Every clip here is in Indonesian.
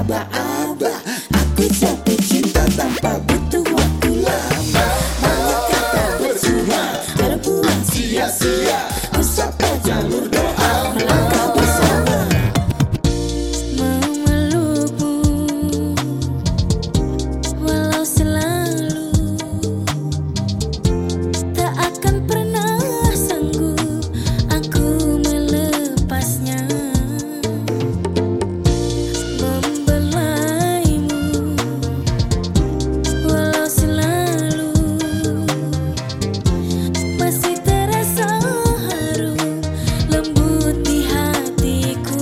aba-aba. Aku jatuh cinta tanpa butuh waktu lama. Banyak kata percuma terbuang sia-sia. Ku sapa jalur doa melangkah bersama. Memelukmu walau selalu tak akan pernah sanggup aku melepasnya. Membelaimu walau selalu masih terasa harum lembut di hatiku.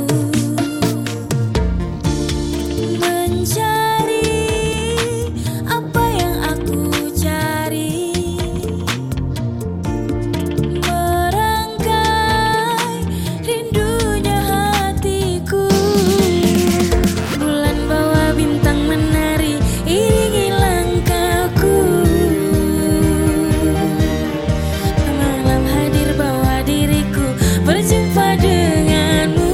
Mencari apa yang aku cari, merangkai rindunya hatiku. Bulan bawa bintang menari iringi langkahku. Malam hadir bawa diriku berjumpa denganmu.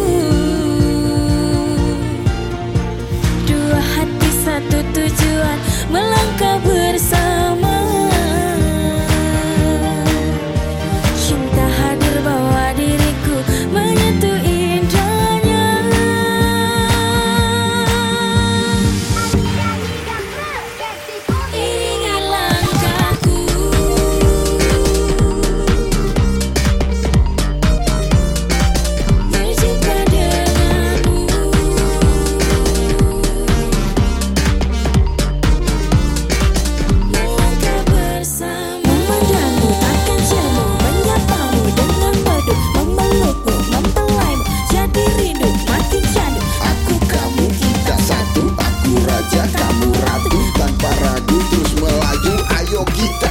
Dua hati satu tujuan melangkah bersama. Cinta hadir bawa diriku menyentuh indahnya. Iringi langkahku berjumpa denganmu. Melangkah bersama. Memandangmu akan jamu, menyapamu dengan madu, memelukmu, mempelaimu, jadi rindu makin candu. Aku, kamu, kita satu. Aku raja, kamu ratu. Tanpa ragu terus melaju. Ayo kita